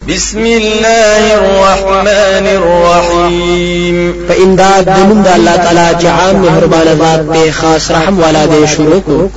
بسم الله الرحمن الرحيم. فإمداد دمند الله تعالى جعام مهربان ذات بے خاص رحم والا دے شروع کو.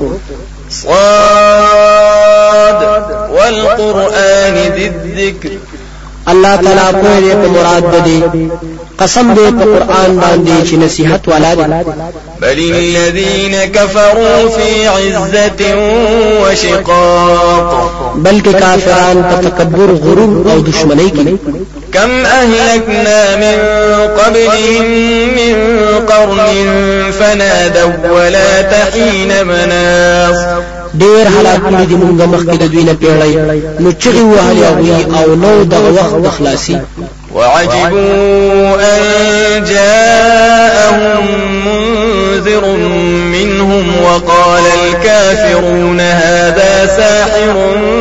صاد والقرآن ذي الذكر. الله تعالی کوئی دے مراد بدی قسم دے قرآن باندې چې نصیحت والا دی. بل الذين كفروا في عزة وشقاق. بلکې کافران په تکبر غرور او دشمنی کې. كم أهلكنا من قبلهم من قرن فنادوا ولا تحين مناص. ډیر حالات دې موږ مخکې د دوی نه پیړی نو چغي وهلي او نو د وخت خلاصي. وعجبوا أن جاءهم منذر منهم وقال الكافرون هذا ساحر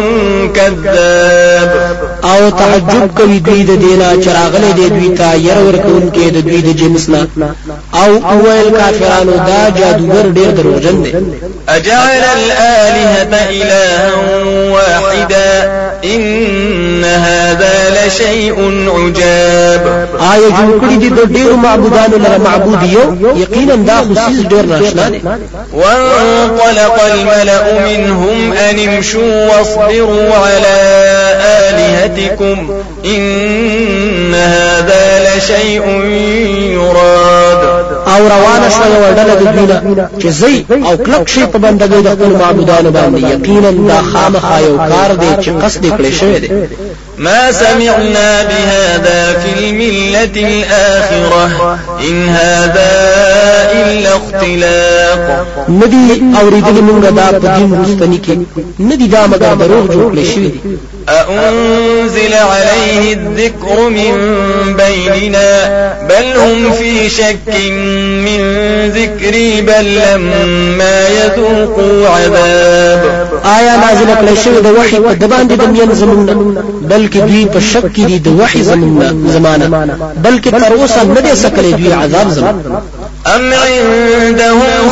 كذاب. او تعجب کوي دوی د دینا چراغله دی دوی ته ير ورکون کې د دوی د جنسنا او اول کافرانو دا جادوګر ډیر دروغجن دي. اجعل الآلهة إلها واحدا ان هذا لشيء عجاب. آیا جوړ کړی دي د ډیر معبودانو لپاره معبود یو یقینا دا خصيص ډیر ناشنا دي. وانطلق الملأ منهم ان امشوا واصبروا على آلهتكم إن هذا لشيء يراد. او روانه شو وړل د دینه چې زئی او کلک شي په بندګۍ د خپل معبودانو باندې یقینا دا خامخا یو کار دی چې قصد کړی شوی دی. ما سمعنا بهذا في الملة الآخرة إن هذا إلا اختلاق. ندی اوریدل موږ دا په دین مستنی کې ندی دا مگر دروغ جوړ کړی شوی دی. أأنزل عليه الذكر من بيننا بل هم في شك من ذكري بل لما يذوقوا عذاب. آیا نازل کړی شوی د وحی په د باندې د مين زمونږ بلکې دوی په شک کې دي د وحی زمانه بلکې تر اوسه نه دي سکلې دوی عذاب زمانه. أم عندهم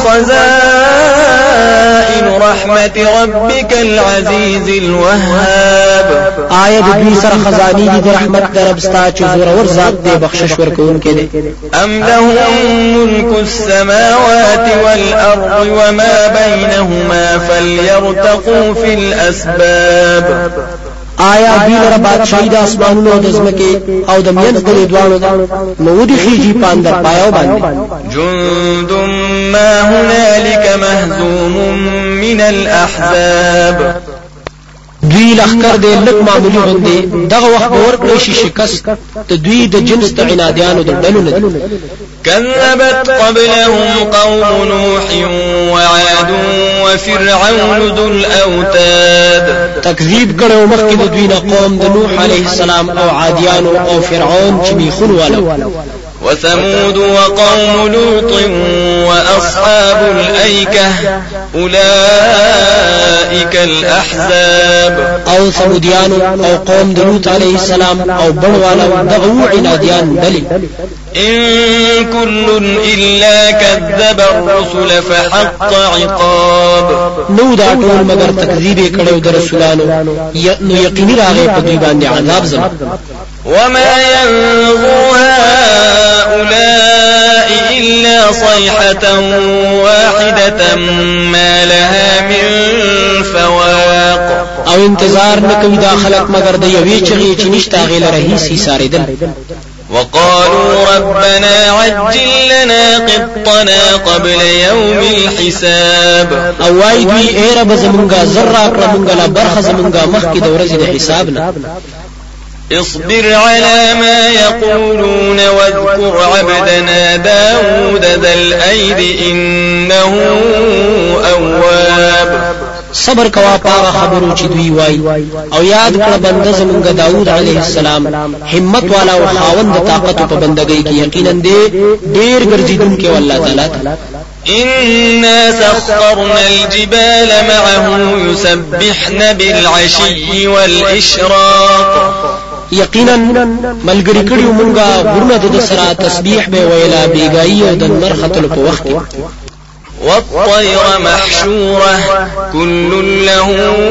خزائن رحمة ربك العزيز الوهاب. آیا د دوی سره خزاني دي د رحمت رب ستا چې زور ور ذات دی بخشش ورکوونکی دی. أم لهم ملك السماوات والأرض وما بينهما فليرتقوا في الأسباب. آیا دوی لره بادشاہي د اسمانونو د ځمکې او د مینځ د دوانو نو ودي خيږي پاندر پایو باندې. جند ما هنالك مهزوم من الأحزاب. دوی لخر دې لک معمولی غوندي دغه وخت ورکړي شي شکست د دوی د جنس د عنادیانو د ډلو نه. كذبت قبلهم قوم نوح وعاد وفرعون ذو الأوتاد. تکذیب کړو مخکې د دوی نه قوم د نوح عليه السلام او عادیانو او فرعون چې میخون والو. وثمود وقوم لوط وأصحاب الأيكة أولئك الأحزاب. او ثموديان او قوم لوط عليه السلام او بڑوالا دغو عناديان دلي. إن كل إلا كذب الرسل فحق عقاب. نو دا ټول مگر تکذیب کړو د رسولانو نو یقیني راغی په دوی باندې عذاب زما. وما ينظر هؤلاء إلا صيحة واحدة ما لها من فواق. او انتظار نکوي دا خلق مگر د یوې چغې چې نشته غیل رهي ساریدل. وقالوا ربنا عجل لنا قطنا قبل يوم الحساب. او وای دوی اے رب زمونږه زرا کړه مونږه لا برخه زمونږه مخکې د ورځې د حسابنا. اصبر على ما يقولون واذكر عبدنا داود ذا الأيد إنه أواب. صبر کوا پاغه خبرو چې دوی وای او یاد کړه بنده زمونږ داوود علیه السلام همت والا او خاوند طاقت په بندګۍ کې یقینا دې ډیر ګرځیدونکو الله تعالی. إنا سخرنا الجبال معه يسبحن بالعشي والإشراق. یقینا ملګری کړیو مونږه غرونه د سره تسبیح به ویلا بیګای او د نرختل په وخت. والطير محشورة كل له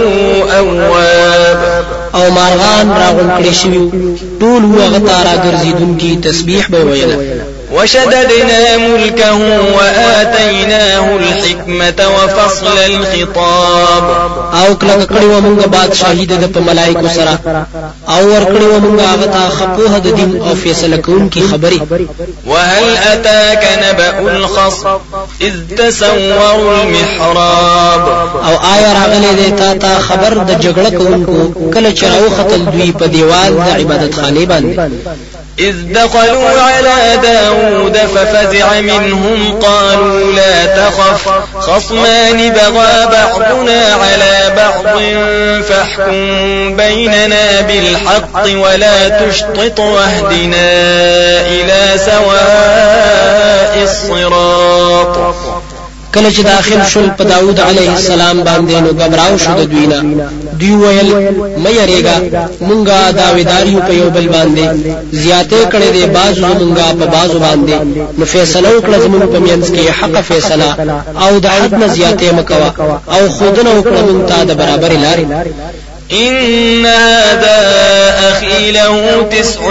أواب او مارغان راغون کړی شوی ټول هغه تارا ګرځیدونکي تسبیح به ویل وشددنا ملكه وآتيناه الحكمة وفصل الخطاب او کله کړي موږ بادشاہي د په ملائکو سره او ور کړي موږ هغه ته خپوه د دین او فیصله کوونکی خبري وهل أتاك نبأ الخصم إذ تسوروا المحراب او آیا راغلی دی تا خبر د جګړه کوونکو کله چې راوختل دوی په دیوال د عبادت خانه باندې إذ دخلوا على داود ففزع منهم قالوا لا تخف خصمان بغى بعضنا على بعض فاحكم بيننا بالحق ولا تشطط واهدنا إلى سواء الصراط کله چې داخل شول په داوود علیه السلام باندې نو غبراو شو د دوینا دوی ویل مې یریګا مونږه داویداریو په یو بل باندې زیاته کړي دي بازو مونږه په بازو باندې نو فیصله وکړه زموږ په منځ کې حق فیصله او د حد نه زیاته مکوا او خودنه وکړه مونږ ته د برابر لارې إن هذا أخي له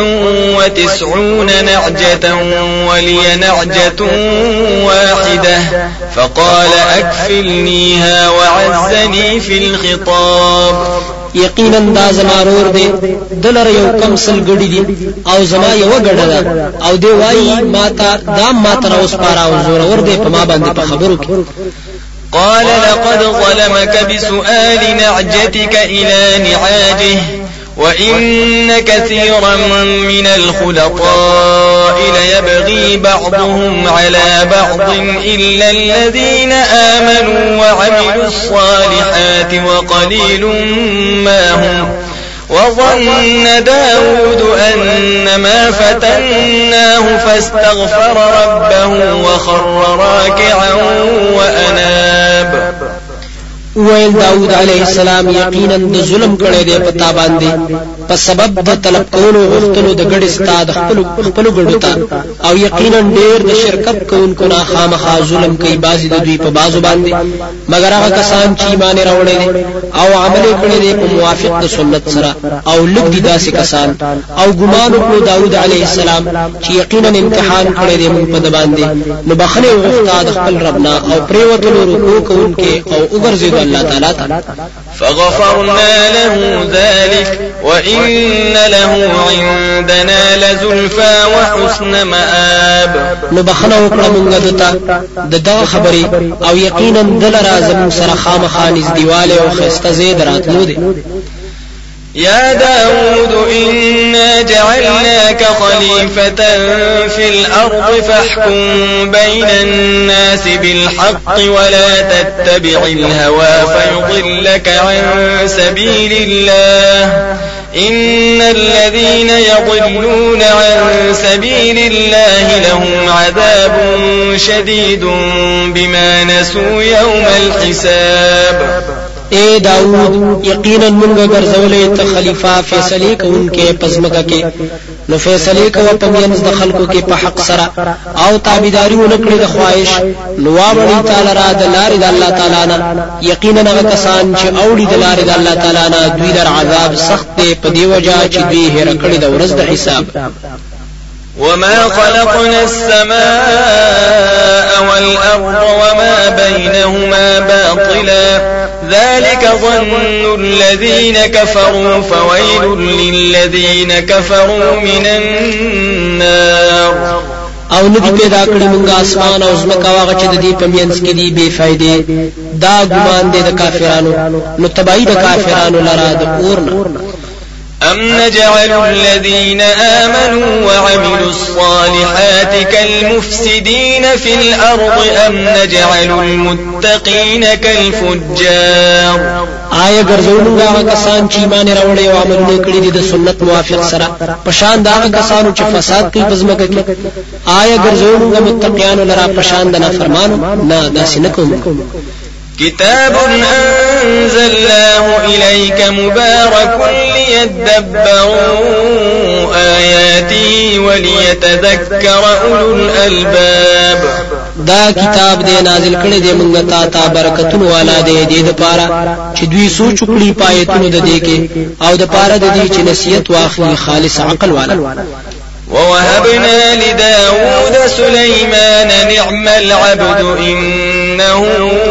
99 نعجة ولي نعجة واحدة فقال أكفلنيها وعزني في الخطاب یقینا دا زمارور دی دلر یو کم سل ګډی دی او زما یو ګډه ده او دی وای ماتا دا ماته اوس پارا او زور ور دی په ما باندې په خبرو کې قال لقد ظلمك بسؤال نعجتك إلى نعاجه وإن كثيرا من الخلطاء ليبغي بعضهم على بعض إلا الذين آمنوا وعملوا الصالحات وقليل ما هم وظن داود أنما فتناه فاستغفر ربه وخر راكعا وأناب ویل داود علیہ السلام یقینا د ظلم کړي دی پتا باندې په سبب د طلب کولو غوښتلو د ګډ استاد خپل ګډو ته او یقینا ډیر د شرکت کوونکو نه خامخا ظلم کوي بازي د دوی په بازو باندې مگر هغه کسان چې ایمان راوړي دي او عمل کړي دي په موافق د سنت سره او لږ دي داسې کسان او ګمان وکړو داود علیہ السلام چې یقینا امتحان کړي دي په د باندې نو بخنه غوښتا د خپل ربنا او پریوتلو رکوع کوونکي او وګرځي الله تعالى فغفرنا له ذلك وإن له عندنا لزلفى وحسن مآب نبخنا وکړه مونږ دته دغه خبري او یقینا دل راځم سره خامخا نږدېواله او خسته زید راتلو دي يا داود إنا جعلناك خليفة في الأرض فاحكم بين الناس بالحق ولا تتبع الهوى فيضلك عن سبيل الله إن الذين يضلون عن سبيل الله لهم عذاب شديد بما نسوا يوم الحساب اے داود یقینا منګه ګرځولې ته خلیفہ فیصله کوونکې پزماکه کې نو فیصله کوي په مینځ د خلکو کې په حق سره او تابعداري ونکړي د خواهش نو واړی تعالی را د لارې د الله تعالی نه یقینا هغه کسان چې اوړي د لارې د الله تعالی نه دوی در عذاب سخت دی په دی وجه چې دوی هر کړي د ورځ د حساب وما خلقنا السماء والأرض وما بينهما باطلا ذلك ظن الذين كفروا فويل للذين كفروا من النار او ندی پیدا کړی مونږه اسمان او زمکا واغه چې د دې په مینس کې دی بے فائدې دا ګمان دی د کافرانو نو تبعید کافرانو لرا د اورنا أم نجعل الذين آمنوا وعملوا الصالحات كالمفسدين في الأرض أم نجعل المتقين كالفجار آیا ګرځولو هغه کسان چې ایمان راوړي او عملونه کړی دي د سنت موافق سره پشان دا هغه کسانو چې فساد کوي پزماکه کې آیا ګرځولو متقیانو لرا پشان د نافرمانو نه داسې نه کوم كتاب أنزلناه إليك مبارك ليدبروا آياته وليتذكر أولو الألباب دا کتاب دې نازل کړي دې مونږ ته برکتونو والا دې د پاره چې دوی سوچ کړي پایتونو د دې کې او د پاره د دې چې نصیحت واخلي خالص عقل والا. ووهبنا لداود سليمان نعم العبد إنه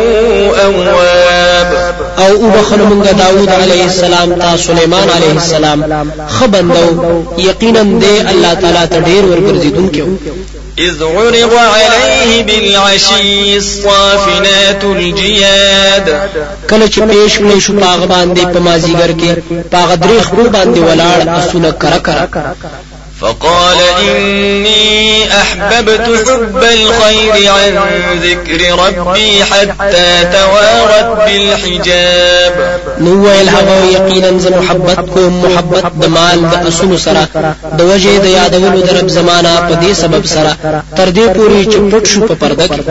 أواب. او بخل من داود عليه السلام تا سليمان عليه السلام خبندو یقینا دې الله تعالی ته ډیر ورګرځیدونکو. إذ عرض عليه بالعشي الصافنات الجياد. کله چې پیش کړي شو پاغ باندې په مازیګر کې پاغ دریخ په باندې ولاړ اسونه کرا فقال إني أحببت حب الخير عن ذكر ربي حتى توارت بالحجاب. نو الهوى يقينا ز محبت د مال د اسونو سره د وجه د یادولو د رب زمانہ په دې سبب سره تر دې پوری چې پټ شو په پرده کې.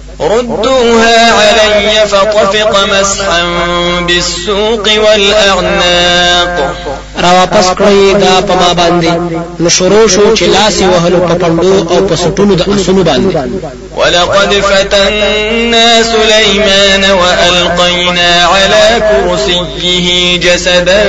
ردوها علي فطفق مسحا بالسوق والأعناق. را واپس کړی دا په ما باندې نو شروع شو چې لاس وهلو په پندو او په سټونو د اسونو باندې. ولقد فتنا سليمان وألقينا على كرسيه جسدا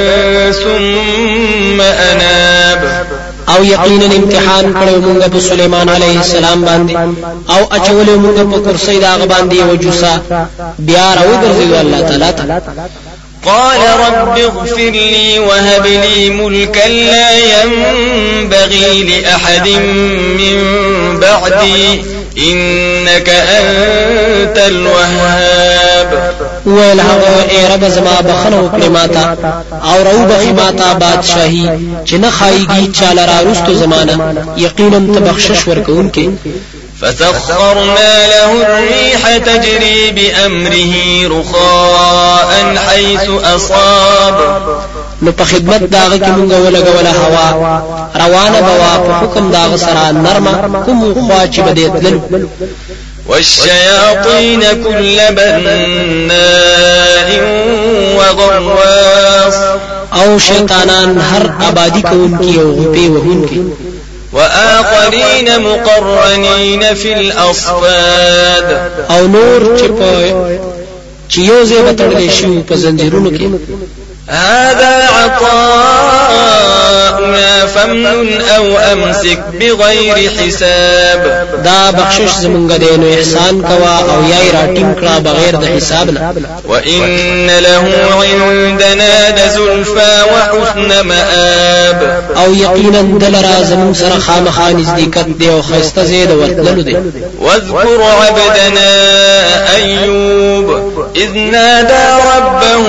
ثم أناب. او یقینا امتحان کړو موږ په سليمان عليه السلام باندې او اچولې موږ په کرسي دا باندې وجوسا بیا راوګرځي الله تعالی. قال رب اغفر لي وهب لي ملكا لا ينبغي لأحد من بعدي إنك أنت الوهاب. ویل هغه ای رب زما بخنو کړی ماتا او رو بخی ماتا بادشاہی چې نه خایږي چاله را رستو زمانہ یقینا تبخشش ورکونکې. فسخرنا له الريح تجري بأمره رخاء حيث أصاب. نو په خدمت داغه کې مونږ ولګوله هوا روانه بوا په حکم داغه سره نرمه کوم خوا چې بده تلل. والشياطين كل بناء وغواص. او شیطانان هر آبادی کوونکی او غپی وهونکی. وآخرين مقرنين في الأصفاد. او نور چې یو ځای بتړل شي په زنجیرونو کې. هذا عطاؤنا فامنن أو أمسك بغير حساب. دا بخشش زمونږ دی نو احسان کوا او یای راټینګ کړه بغیر د حساب نه. وإن له عندنا لزلفى وحسن مآب. او یقینا دلرا زمون سره خامخا نزدېکت دی او خسته زید ورتللو دی. واذكر عبدنا أيوب إذ نادى ربه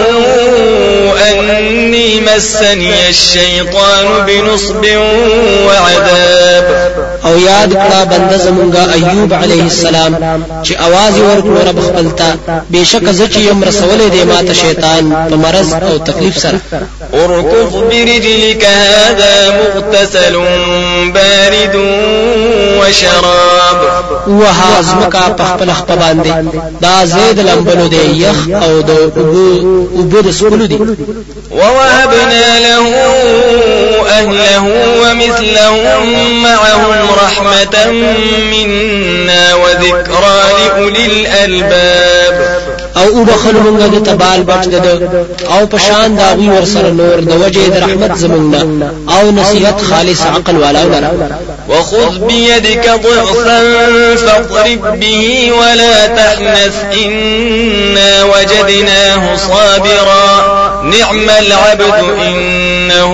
أني مسني الشيطان بنصب وعذاب. او یاد کړه بنده زمونږه ایوب علیه السلام چې आवाज ورکړ رب خپلتا بشک ز چې یم رسولې دی ماته شیطان په مرض او تکلیف سره. اركض برجلك هذا مغتسل بارد وشراب. وهازمکا په خپل خپ باندې دا زید لمبلو دی یخ او د اوبو د سکولو دی. ووهبنا له أهله ومثلهم معهم رحمة منا وذكرى لأولي الألباب. او بخل مونږ د تبال بچ د او پشان دا وی ورسره نور د وجه د رحمت زمونږ او نصیحت خالص عقل والا ولرا. وخذ بيدك ضغثا فاضرب به ولا تحنث إنا وجدناه صابرا نعم العبد إنه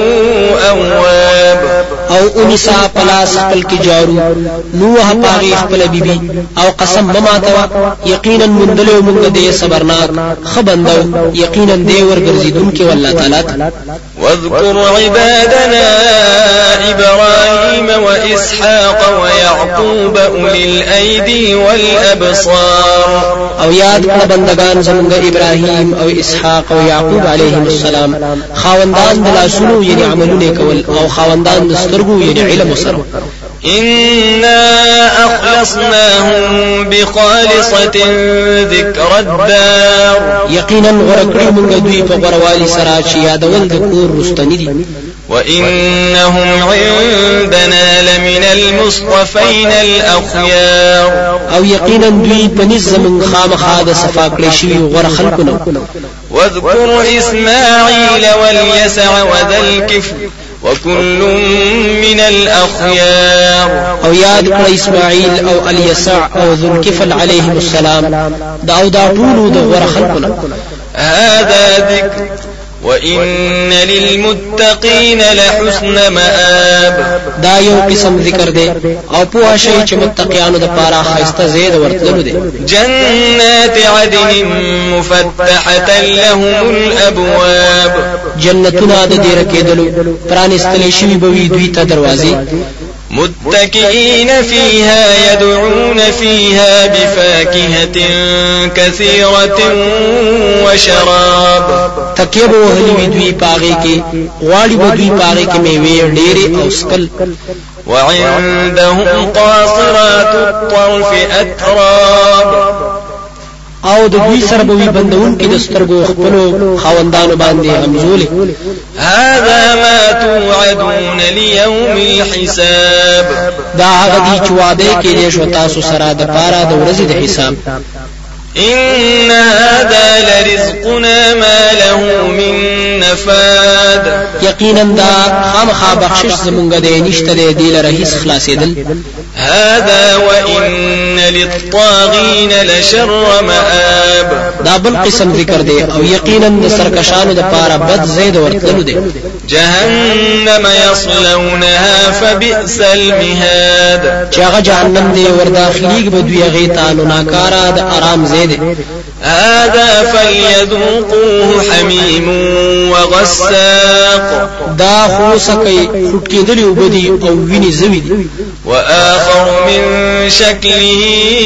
أواب. او انسا پلاس خپل کی جارو نوح پاغي خپل بیبي او قسم مماتوا یقینا مندلو مونږ دې صبرناک خبندو یقینا دې ورګرځیدونکو والله تعالی. واذكر عبادنا إبراهيم وإسحاق ويعقوب أولي الأيدي والأبصار. او یاد کړه بندگان زمونږ ابراهيم او اسحاق او يعقوب عليهم السلام خاوندان د لاسونو یعنی عملونه کول او خاوندان د سترګو یعنی علم سره. إنا أخلصناهم بخالصة ذكر الدار. يقينا ورکړو موږ دوی په غروالي سره چې یادول د کور رستنی دي. وإنهم عندنا لمن المصطفين الأخيار او یقینا دوی پنځ من خامخا د صفا کړی شوی غره خلقونه واذكر إسماعيل واليسع وذا الكفل وكل من الأخيار او یاد کړه اسماعیل او الیسع او ذو الكفل علیهم السلام دا ټول د غره خلقونه هذا ذكر وإن للمتقين لحسن مآب دا یو قسم ذکر دی او په شی چې متقیانو د پاره خاسته زید ورتلو دی جنات عدن مفتحة لهم الأبواب جنتنا د دې رکیدلو پرانستلې شوی بوي دوی ته دروازې متكئين فيها يدعون فيها بفاكهة كثيرة وشراب تکیب وهلی دوی پاغي کې غواړي دوی پاغي کې میوه ډېرې او سکل وعندهم قاصرات الطرف أتراب او د دوی سره به بندون کې د سترګو خپلو خاوندانو باندې همزولې هذا ما توعدون ليوم الحساب دا هغه دي چې وعده کې شو تاسو سره د پاره د ورځې د حساب إن هذا لرزقنا ما له من نفاد یقینا دا خامخا بخشش زمونږ دی نشته دی لره هیڅ خلاصېدل هذا وإن للطاغين لشر مآب دا بل قسم ذکر دی او یقینا د سرکشانو د پاره بد زید ورتلو دی جهنم يصلونها فبئس المهاد چې هغه جهنم دی ورداخليږي به دوی هغه ته نو ناکارا د آرام زید هذا فليذوقوه حميم وغساق دا خو سکه خټکېدلی وبدي او ویني زوی دي وآخر من شكله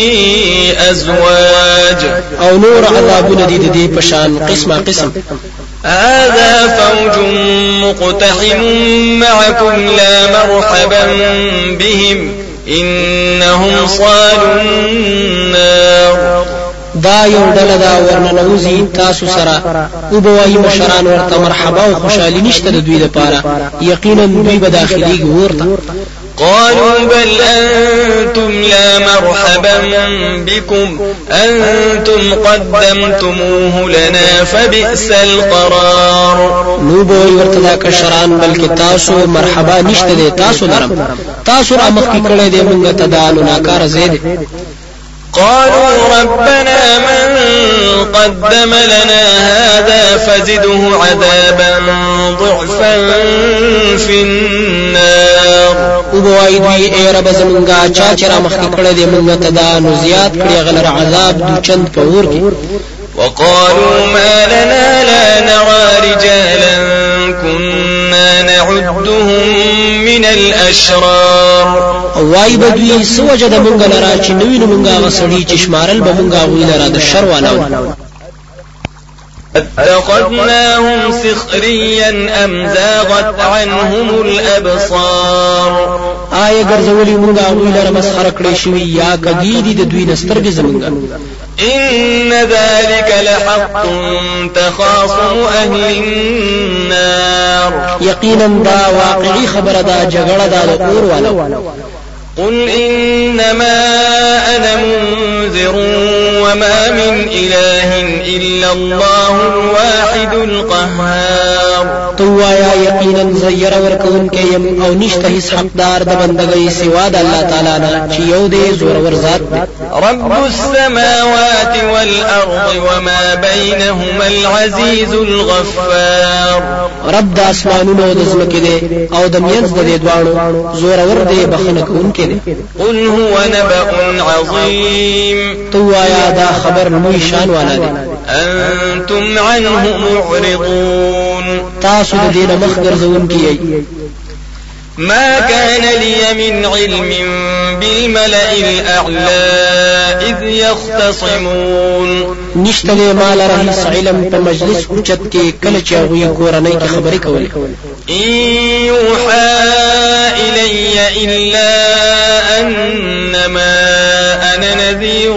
أزواج او نور عذابونه دي د دې پشان قسمه قسم هذا فوج مقتحم معكم لا مرحبا بهم إنهم صالوا النار دا یو ډله دا ورننوزی تاسو سره او بوای مشران ورته مرحبا او خوشالي نشته د دوی لپاره یقینا دوی به داخلي ورته قالوا بل أنتم لا مرحبا بكم أنتم قدمتموه لنا فبئس القرار نو بوای ورته دا کشران بلکې تاسو مرحبا نشته د تاسو لرم تاسو را مخکې کړی دی موږ ته دا ناکار زید قالوا ربنا من قدم لنا هذا فزده عذابا ضعفا في النار وبوای دوی ای رب زمونږه چا چې را مخکې کړی دی موږ ته دا نو زیات کړی غلر عذاب دو چند په ور کې وقالوا ما لنا لا نرى رجالا كنا نعدهم من الأشرار وای بدوی سوجه د مونږ لرا چې نوینه مونږه وسړي چې شمارل به مونږه وی لرا د شر والاو اتخذناهم سخريا أم زاغت عنهم الأبصار آیا ګرځولي مونږه وی لرا مسخره کړی شوی یا کګی د دوی نسترګې زمونږه إن ذلك لحق تخاصم أهل النار يقينا دا واقعي خبر دا جګړه دا اور والا قل إنما أنا منذر وما من إله إلا الله الواحد القهار توایا یقینا زیر ورکون کیم او نشته هیڅ حقدار د بندګۍ سوا د الله تعالی نه چې یو دې زور ور ذات رب السماوات والأرض وما بينهما العزيز الغفار رب د اسمانونو د زمکه دې او د مینځ د دې دواړو زور ور دې بخنه کوونکې دې قل هو نبأ عظيم توایا دا خبر لوی شان والا دې أنتم عنه معرضون تاسو د دې مخ ګرځون کیږي ما كان لي من علم بالملأ الأعلى إذ يختصمون نشته مال رئيس علم په مجلس اوچت کې کله چې هغه کورنۍ کې خبرې کولې إن يوحى إلي إلا أنما أنا نذير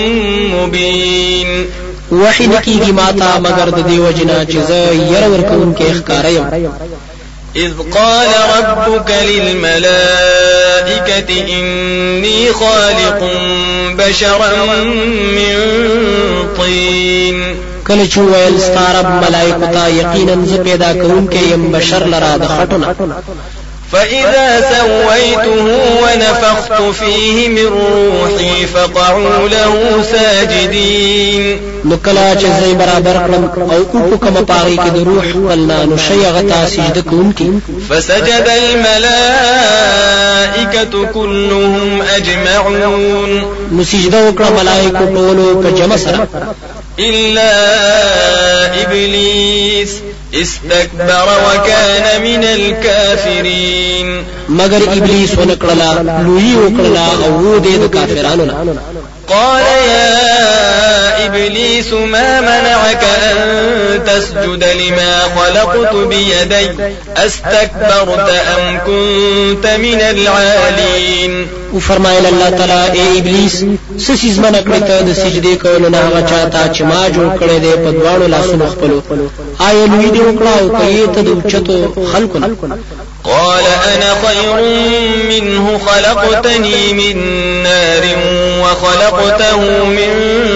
مبين وحی نکیږي ماتا مگر د دیو جنا چې زه ير ورکون کې ښکارا یم إذ قال ربك للملائكة إني خالق بشرا من طين کله چې ویل ستارب ملائکه ته یقینا ز پیدا کوونکی يم بشر لرا د خټونه فإذا سويته ونفخت فيه من روحي فقعوا له ساجدين نکلا چې زې برابر کړم او کو کوم پاره کې د روح ولنا نو شي غتا سجده کوونکی فسجد الملائكة كلهم أجمعون نو سجده وکړه ملائکه ټول په جمع سره إلا إبليس استكبر وكان من الكافرين مگر ابلیس ونکړلا لوی وکړلا او دې د کافرانو نه قال يا إبليس ما منعك أن تسجد لما خلقت بيدي استكبرت أم كنت من العالين وفرمایل الله تعالی اے ابلیس سسیز من کړی ته د سجدي کولو نه هغه چاته چې ما جوړ کړی دی په دواړو لاسونو خپلو آیا لوی دی وکړه او کوي ته د اوچتو خلقو قال أنا خير منه خلقتني من نار وخلقته من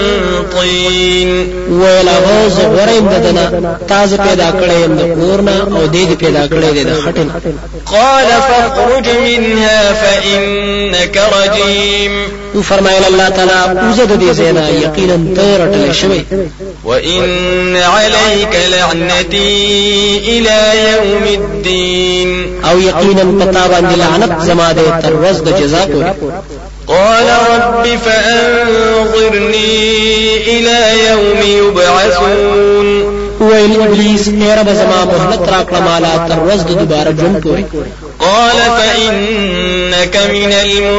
طين ویلا غوز غریم ددنا تاز پیدا کړی د کورنا او دې پیدا کړی د خټن قال فاخرج منها فإنك رجيم فرمایل الله تعالی وزد دې زینا یقینا ترټل شوی وإن عليك لعنتي إلى يوم الدين او یقینا پتا باندې لعنت زما دې تر ورځ د جزا پورې قال رب فأنظرني إلى يوم يبعثون ویل ابلیس اے رب زما مهلت راکړه مالا تر ورځ د دوباره ژوند پورې قال فإنك من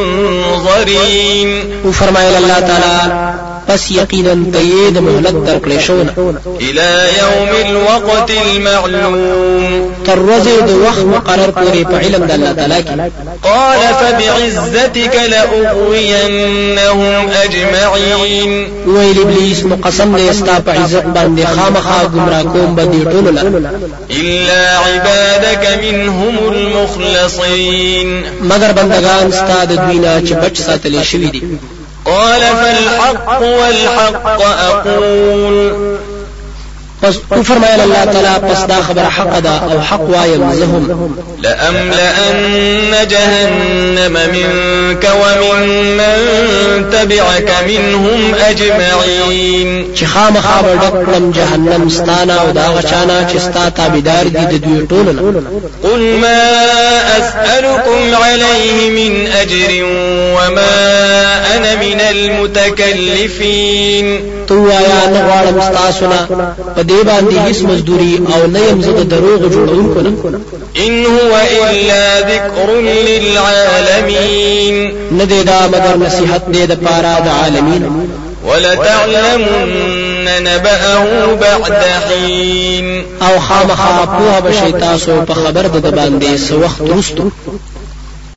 المنظرين وفرمایل الله تعالی پس یقینا تید مهلت درکړې شونه الى يوم الوقت المعلوم تر ورځې د وخت مقرر پورې په علم د الله تعالی کې قال فبعزتك لأغوينهم أجمعين ویل ابلیس مقسم دې استا په عزت باندې خامخا گمراه کوم بدی ټول الا عبادك منهم المخلصين مگر بندگان استا د دوینا چې بچ ساتل شوی دي قال فالحق والحق أقول پس فرمایل الله تعالی پس دا خبر حق ده او حق وایم زهم لأملأن جهنم منك ومن من تبعك منهم أجمعين چې خامخا ډکړم جهنم ستانه او دا غچانا چې ستا تابعدار دي د دوی ټولو قل ما أسألكم عليه من أجر وما أنا من المتكلفين تو یا نه غواړم تاسو نه په دې باندې هیڅ مزدوري او نه يم زه د دروغ جوړونکو نه ان هو الا ذکر للعالمین نه دی دا مگر نصیحت دی د پاره د عالمین ولتعلمن نبأه بعد حين او خامخا په بشي تاسو په خبر د باندې سو وخت وروسته